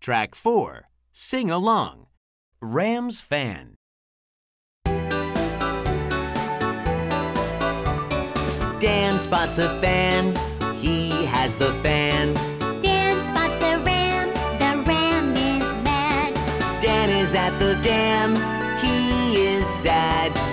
Track 4. Sing along. Ram's fan. Dan spots a fan. He has the fan. Dan spots a ram. The ram is mad. Dan is at the dam. He is sad.